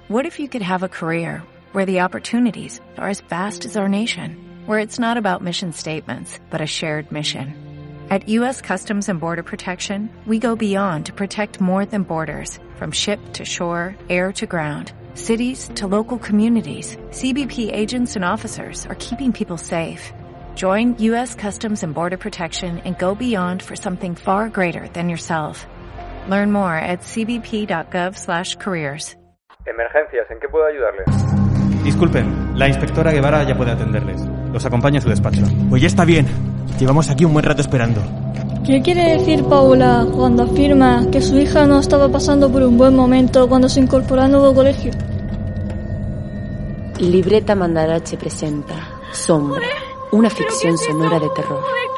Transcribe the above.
What if you could have a career where the opportunities are as vast as our nation, where it's not about mission statements, but a shared mission? At U.S. Customs and Border Protection, we go beyond to protect more than borders, from ship to shore, air to ground, cities to local communities. CBP agents and officers are keeping people safe. Join U.S. Customs and Border Protection and go beyond for something far greater than yourself. Learn more at cbp.gov/careers. Emergencias, ¿en qué puedo ayudarles? Disculpen, la inspectora Guevara ya puede atenderles. Los acompaña a su despacho. Pues ya está bien. Llevamos aquí un buen rato esperando. ¿Qué quiere decir Paula cuando afirma que su hija no estaba pasando por un buen momento cuando se incorporó al nuevo colegio? Libreta Mandarache presenta Sombra, una ficción sonora de terror.